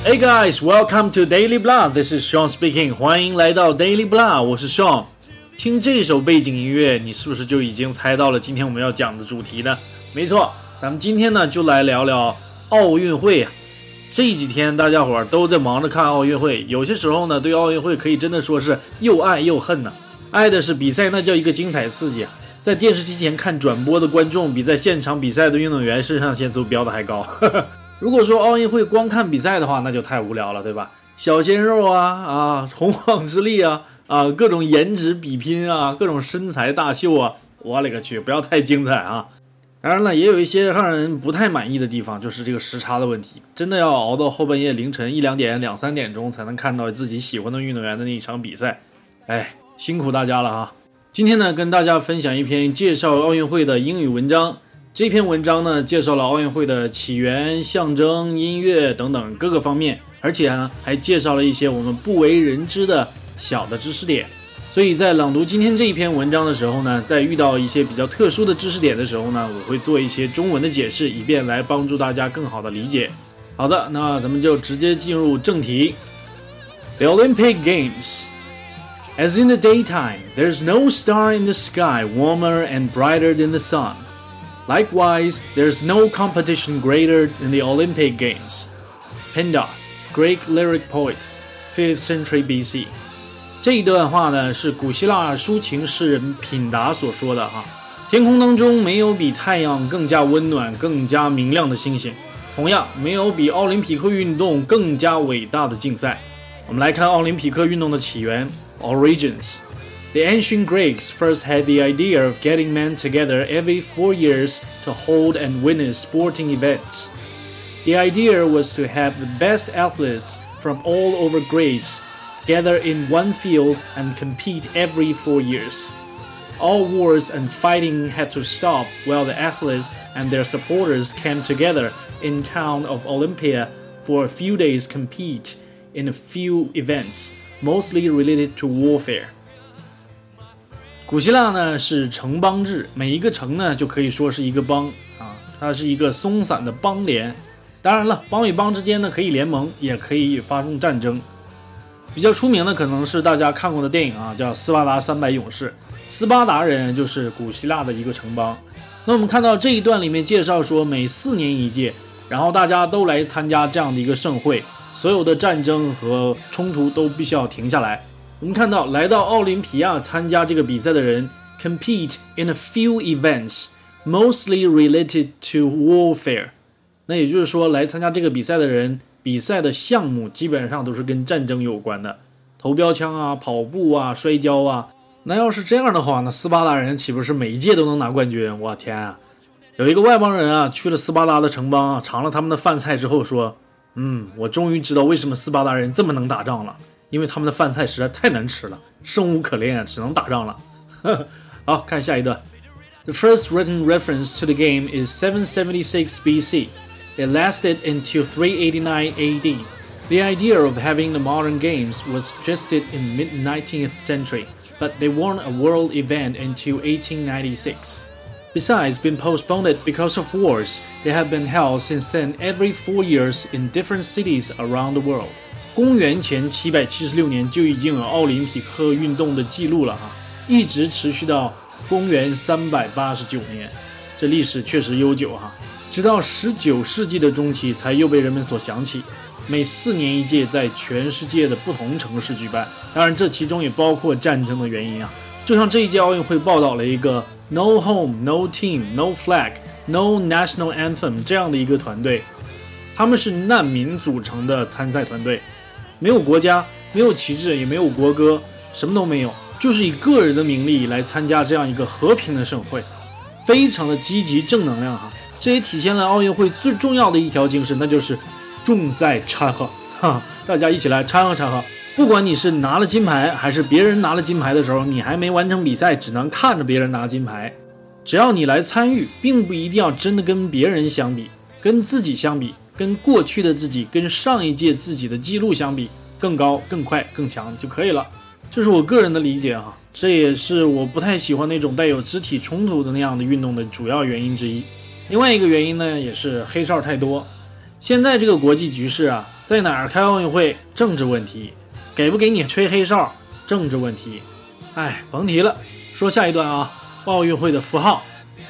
Hey guys, welcome to Daily Blah. This is Sean speaking. 欢迎来到 Daily Blah， 我是 Sean。听这首背景音乐，你是不是就已经猜到了今天我们要讲的主题呢？没错，咱们今天呢就来聊聊奥运会啊。这几天大家伙都在忙着看奥运会，有些时候呢对奥运会可以真的说是又爱又恨呢。爱的是比赛那叫一个精彩刺激啊，在电视机前看转播的观众比在现场比赛的运动员肾上腺素飙得还高。如果说奥运会光看比赛的话，那就太无聊了，对吧？小鲜肉啊，洪荒之力啊，各种颜值比拼啊，各种身材大秀啊，我勒个去，不要太精彩啊！当然了，也有一些让人不太满意的地方，就是这个时差的问题，真的要熬到后半夜凌晨1-2点、2-3点钟才能看到自己喜欢的运动员的那一场比赛，哎，辛苦大家了哈！今天呢，跟大家分享一篇介绍奥运会的英语文章。这篇文章呢，介绍了奥运会的起源、象征、音乐等等各个方面，而且呢，还介绍了一些我们不为人知的小的知识点。所以在朗读今天这一篇文章的时候呢，在遇到一些比较特殊的知识点的时候呢，我会做一些中文的解释，以便来帮助大家更好的理解。好的，那咱们就直接进入正题。The Olympic Games. As in the daytime, there's no star in the sky warmer and brighter than the sun.Likewise, there's no competition greater than the Olympic Games. Pindar, Greek lyric poet, 5th century BC. 这一段话呢，是古希腊抒情诗人品达所说的哈。天空当中没有比太阳更加温暖、更加明亮的星星，同样没有比奥林匹克运动更加伟大的竞赛。我们来看奥林匹克运动的起源 ，Origins。The ancient Greeks first had the idea of getting men together every 4 years to hold and witness sporting events. The idea was to have the best athletes from all over Greece gather in one field and compete every 4 years. All wars and fighting had to stop while the athletes and their supporters came together in town of Olympia for a few days compete in a few events, mostly related to warfare.古希腊呢是城邦制，每一个城呢就可以说是一个邦啊，它是一个松散的邦联。当然了，邦与邦之间呢可以联盟，也可以发动战争。比较出名的可能是大家看过的电影啊，叫《斯巴达300勇士》。斯巴达人就是古希腊的一个城邦。那我们看到这一段里面介绍说，每4年一届，然后大家都来参加这样的一个盛会，所有的战争和冲突都必须要停下来。我们看到来到奥林匹亚参加这个比赛的人 compete in a few events mostly related to warfare， 那也就是说来参加这个比赛的人，比赛的项目基本上都是跟战争有关的，投标枪啊、跑步啊、摔跤啊。那要是这样的话，那斯巴达人岂不是每一届都能拿冠军？我天啊！有一个外邦人啊去了斯巴达的城邦啊，尝了他们的饭菜之后说，我终于知道为什么斯巴达人这么能打仗了，因为他们的饭菜实在太难吃了，生无可恋，只能打仗了。好，看下一段。The first written reference to the game is 776 BC. It lasted until 389 AD. The idea of having the modern games was suggested in mid-19th century, but they weren't a world event until 1896. Besides being postponed because of wars, they have been held since then every 4 years in different cities around the world.公元前776年就已经有奥林匹克运动的记录了哈，一直持续到公元389年，这历史确实悠久哈。直到19世纪的中期才又被人们所想起，每4年一届，在全世界的不同城市举办。当然，这其中也包括战争的原因啊。就像这一届奥运会报道了一个 No Home, No Team, No Flag, No National Anthem 这样的一个团队，他们是难民组成的参赛团队。没有国家，没有旗帜，也没有国歌，什么都没有，就是以个人的名利来参加这样一个和平的盛会，非常的积极正能量哈。这也体现了奥运会最重要的一条精神，那就是重在掺和哈，大家一起来掺和掺和。不管你是拿了金牌，还是别人拿了金牌的时候，你还没完成比赛，只能看着别人拿金牌，只要你来参与，并不一定要真的跟别人相比，跟自己相比，跟过去的自己，跟上一届自己的记录相比，更高、更快、更强就可以了。这是我个人的理解哈，这也是我不太喜欢那种带有肢体冲突的那样的运动的主要原因之一。另外一个原因呢，也是黑哨太多。 现在这个国际局势啊，在哪儿开奥运会政治问题，给不给你吹黑哨政治问题。哎，甭提了。说下一段啊，奥运会的符号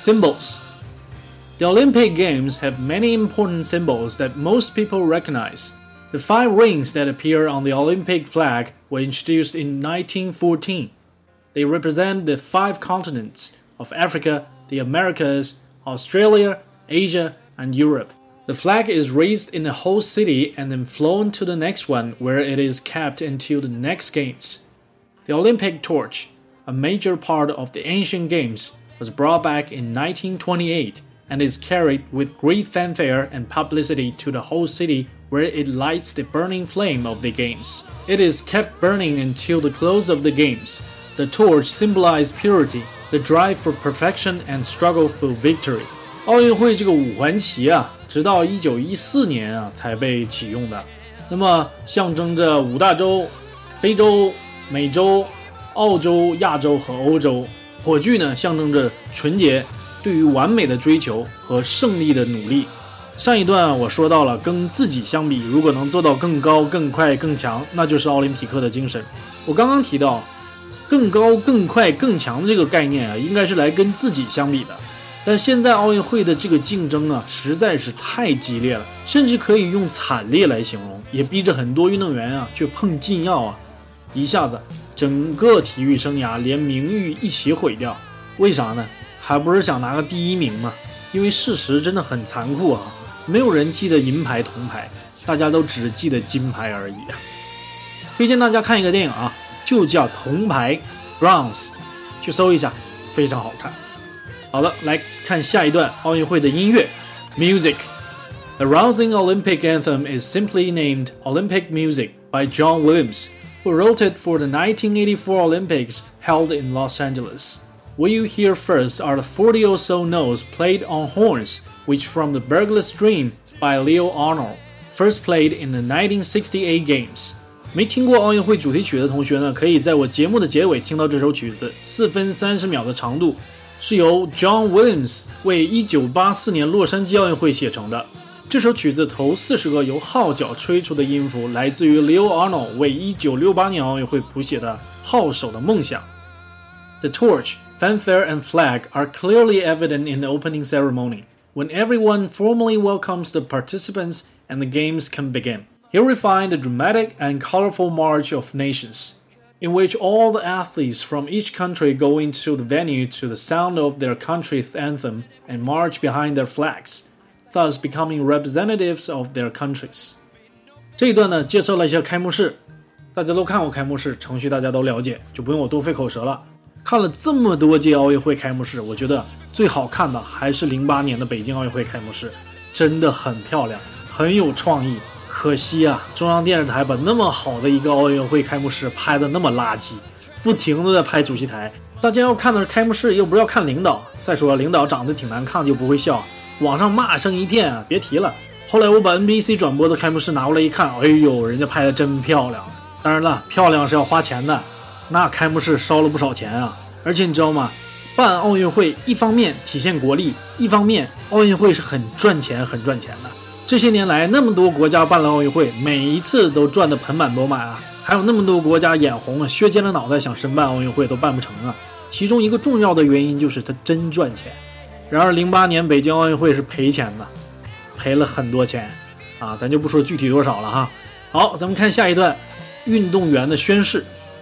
Symbols。The Olympic Games have many important symbols that most people recognize. The 5 rings that appear on the Olympic flag were introduced in 1914. They represent the 5 continents of Africa, the Americas, Australia, Asia, and Europe. The flag is raised in a host city and then flown to the next one where it is kept until the next games. The Olympic torch, a major part of the ancient games, was brought back in 1928 and is carried with great fanfare and publicity to the whole city where it lights the burning flame of the games. It is kept burning until the close of the games. The torch symbolizes purity, the drive for perfection and struggle for victory. 奥运会这个五环旗啊，直到1914年啊才被启用的。那么象征着5大洲、非洲、美洲、澳洲、亚洲和欧洲。火炬呢，象征着纯洁，对于完美的追求和胜利的努力。上一段我说到了，跟自己相比，如果能做到更高、更快、更强，那就是奥林匹克的精神。我刚刚提到，更高、更快、更强的这个概念啊，应该是来跟自己相比的。但现在奥运会的这个竞争啊，实在是太激烈了，甚至可以用惨烈来形容，也逼着很多运动员啊去碰禁药啊，一下子整个体育生涯连名誉一起毁掉。为啥呢？还不是想拿个第1名嘛？因为事实真的很残酷啊，没有人记得银牌、铜牌，大家都只记得金牌而已啊。推荐大家看一个电影啊，就叫《铜牌》 Bronze， 去搜一下，非常好看。好了，来看下一段奥运会的音乐 Music。 The rousing Olympic anthem is simply named Olympic Music by John Williams, who wrote it for the 1984 Olympics held in Los Angeles. What you hear first are the 40 or so notes played on horns, which from the Burglar's Dream by Leo Arnold, first played in the 1968 Games. 没听过奥运会主题曲的同学呢，可以在我节目的结尾听到这首曲子，4分30秒的长度，是由 John Williams 为1984年洛杉矶奥运会写成的。这首曲子头40个由号角吹出的音符来自于 Leo Arnold 为1968年奥运会谱写的《号手的梦想》。The torch, fanfare and flag are clearly evident in the opening ceremony, when everyone formally welcomes the participants and the games can begin. Here we find the dramatic and colorful March of Nations, in which all the athletes from each country go into the venue to the sound of their country's anthem and march behind their flags, thus becoming representatives of their countries. 这一段呢，介绍了一下开幕式，大家都看过开幕式，程序大家都了解，就不用我多费口舌了。看了这么多届奥运会开幕式，我觉得最好看的还是08年的北京奥运会开幕式，真的很漂亮，很有创意。可惜啊，中央电视台把那么好的一个奥运会开幕式拍的那么垃圾，不停的在拍主席台。大家要看的是开幕式，又不是要看领导。再说领导长得挺难看，就不会笑，网上骂声一片啊，别提了。后来我把 NBC 转播的开幕式拿过来一看，哎呦，人家拍的真漂亮。当然了，漂亮是要花钱的，那开幕式烧了不少钱啊。而且你知道吗？办奥运会一方面体现国力，一方面奥运会是很赚钱的。这些年来那么多国家办了奥运会，每一次都赚得盆满钵满啊，还有那么多国家眼红啊，削尖了脑袋想申办奥运会都办不成啊。其中一个重要的原因就是它真赚钱。然而08年北京奥运会是赔钱的，赔了很多钱啊，咱就不说具体多少了哈。好，咱们看下一段运动员的宣誓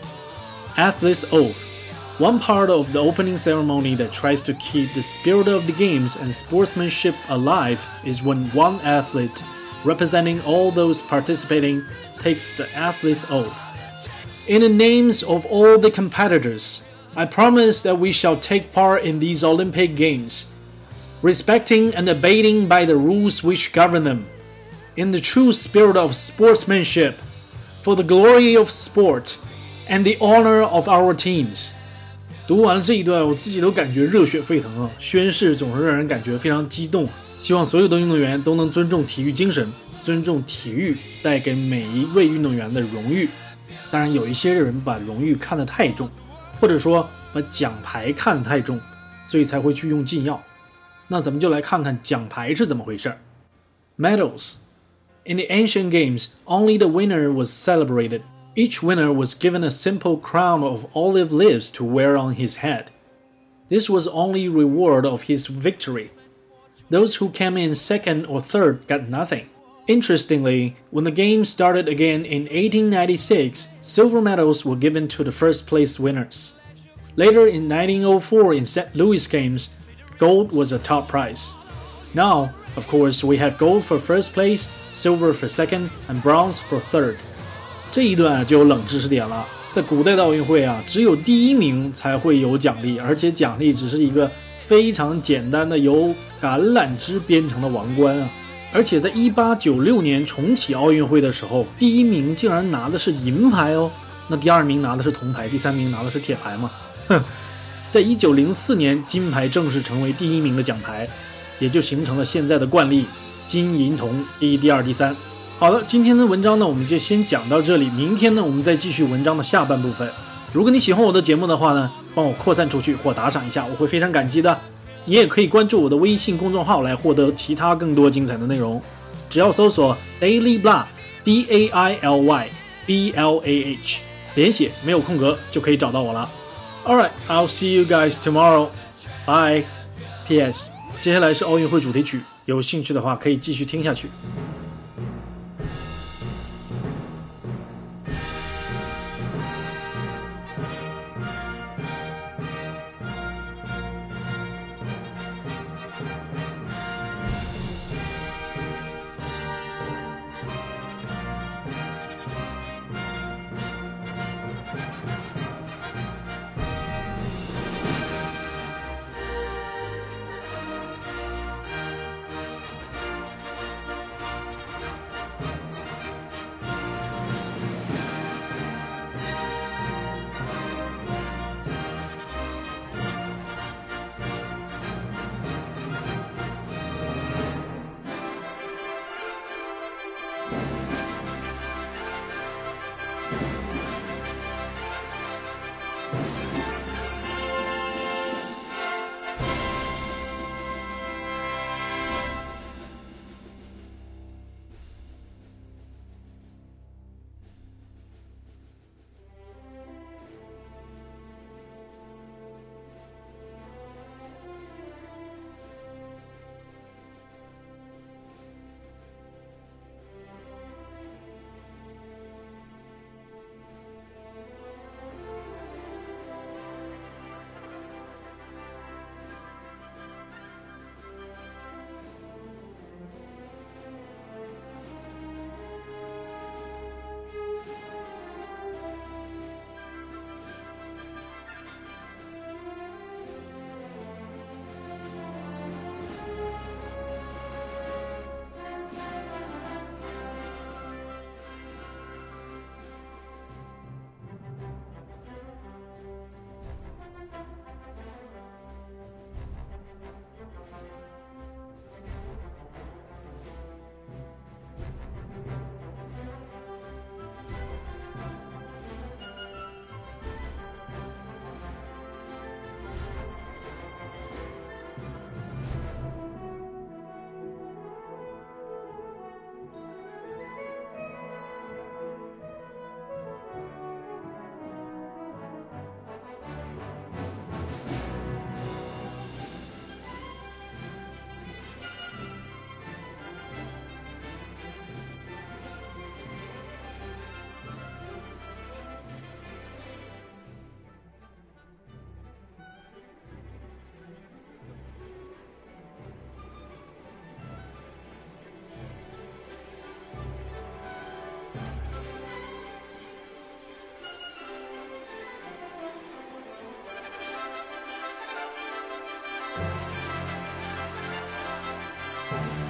Athlete's Oath。One part of the opening ceremony that tries to keep the spirit of the games and sportsmanship alive is when one athlete, representing all those participating, takes the athlete's oath. In the names of all the competitors, I promise that we shall take part in these Olympic Games, respecting and abiding by the rules which govern them, in the true spirit of sportsmanship, for the glory of sport and the honor of our teams.读完了这一段，我自己都感觉热血沸腾啊！宣誓总是让人感觉非常激动，希望所有的运动员都能尊重体育精神，尊重体育带给每一位运动员的荣誉。当然，有一些人把荣誉看得太重，或者说把奖牌看得太重，所以才会去用禁药。那咱们就来看看奖牌是怎么回事。Medals In the ancient games, only the winner was celebrated. Each winner was given a simple crown of olive leaves to wear on his head. This was only reward of his victory. Those who came in second or third got nothing. Interestingly, when the game started again in 1896, silver medals were given to the first place winners. Later in 1904 in St. Louis games, gold was a top prize. Now, of course, we have gold for first place, silver for second, and bronze for third. 这一段就有冷知识点了，在古代的奥运会啊，只有第一名才会有奖励，而且奖励只是一个非常简单的由橄榄枝编成的王冠啊。而且在1896年重启奥运会的时候，第一名竟然拿的是银牌哦，那第二名拿的是铜牌，第三名拿的是铁牌嘛。在1904年，金牌正式成为第一名的奖牌，也就形成了现在的惯例，金银铜第一、第二、第三。好的，今天的文章呢，我们就先讲到这里。明天呢，我们再继续文章的下半部分。如果你喜欢我的节目的话呢，帮我扩散出去或打赏一下，我会非常感激的。你也可以关注我的微信公众号来获得其他更多精彩的内容，只要搜索 Daily Blah DAILY BLAH 连写没有空格就可以找到我了。Alright, I'll see you guys tomorrow. Bye. P.S. 接下来是奥运会主题曲，有兴趣的话可以继续听下去。 Bye.